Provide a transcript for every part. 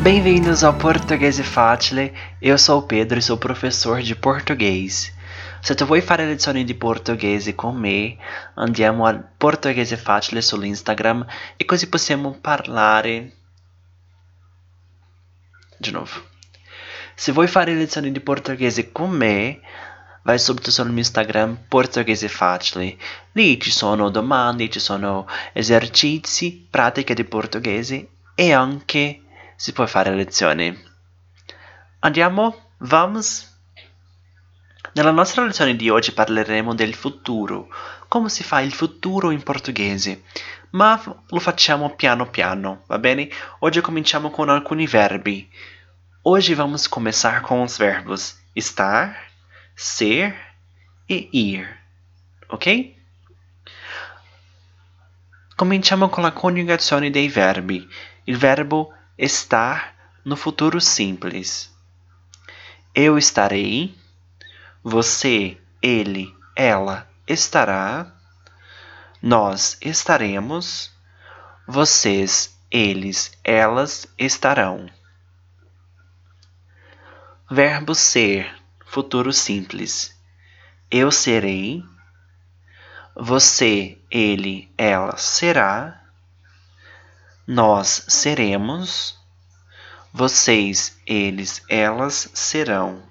Bem-vindos ao Portoghese Facile, eu sou o Pedro e sou professor di portoghese. Se tu vuoi fare lezioni di portoghese con me, andiamo al Portoghese Facile sull'Instagram e così possiamo parlare. Di novo. Se vuoi fare lezioni di portoghese con me, vai subito sul mio Instagram Portoghese Facile. Lì ci sono domande, ci sono esercizi, pratiche di portoghese e anche si può fare lezioni. Andiamo? Vamos? Nella nostra lezione di oggi parleremo del futuro, come si fa il futuro in portoghese, ma lo facciamo piano piano, va bene? Oggi cominciamo con alcuni verbi. Hoje vamos começar com os verbos estar, ser e ir, ok? Cominciamo con la coniugazione dei verbi. Il verbo estar no futuro simples. Eu estarei, você, ele, ela estará, nós estaremos, vocês, eles, elas estarão. Verbo ser, futuro simples. Eu serei, você, ele, ela será, nós seremos, vocês, eles, elas serão.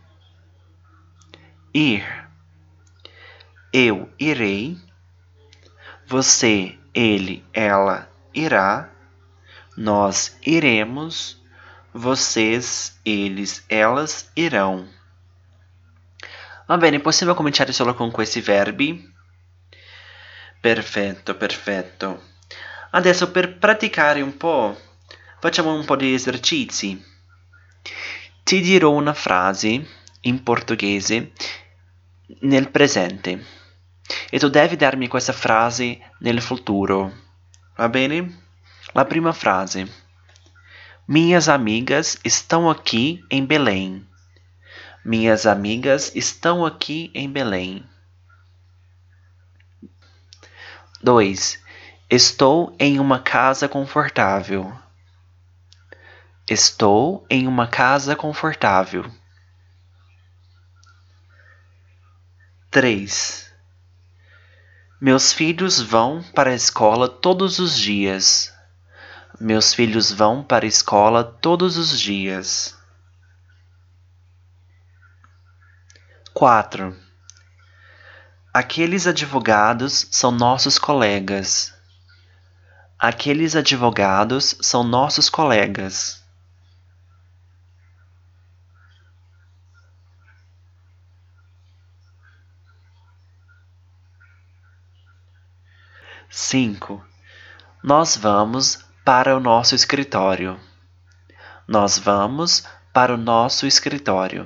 Ir. Eu irei, você, ele, ela irá, nós iremos, vocês, eles, elas irão. Va bene, possiamo cominciare solo con questi verbi? Perfetto, perfetto. Adesso per praticare un po', facciamo un po' di esercizi. Ti dirò una frase in portoghese nel presente e tu devi darmi questa frase nel futuro, va bene? La prima frase. Minhas amigas estão aqui em Belém. Minhas amigas estão aqui em Belém. 2. Estou em uma casa confortável. Estou em uma casa confortável. 3. Meus filhos vão para a escola todos os dias. Meus filhos vão para a escola todos os dias. 4. Aqueles advogados são nossos colegas. Aqueles advogados são nossos colegas. 5. Nós vamos para o nosso escritório. Nós vamos para o nosso escritório.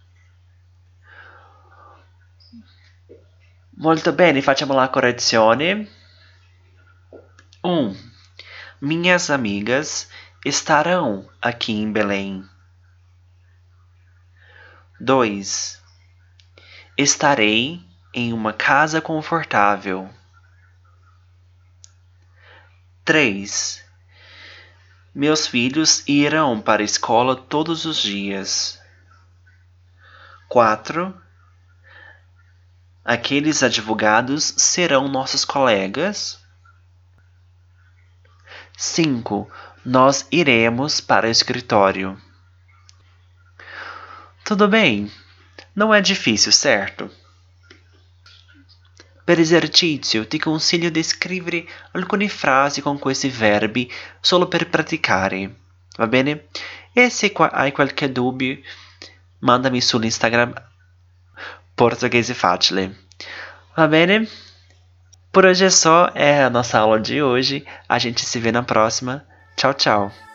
Molto bene, facciamo la correzione. 1. Minhas amigas estarão aqui em Belém. 2. Estarei em uma casa confortável. 3. Meus filhos irão para a escola todos os dias. 4. Aqueles advogados serão nossos colegas. 5. Nós iremos para o escritório. Tudo bem? Não é difícil, certo? Per esercizio ti consiglio di scrivere alcune frasi con questi verbi solo per praticare, va bene? E se hai qualche dubbio, mandami sull'Instagram Portoghese Facile, va bene? Por hoje é só, é a nossa aula de hoje. A gente se vê na próxima. Tchau, tchau!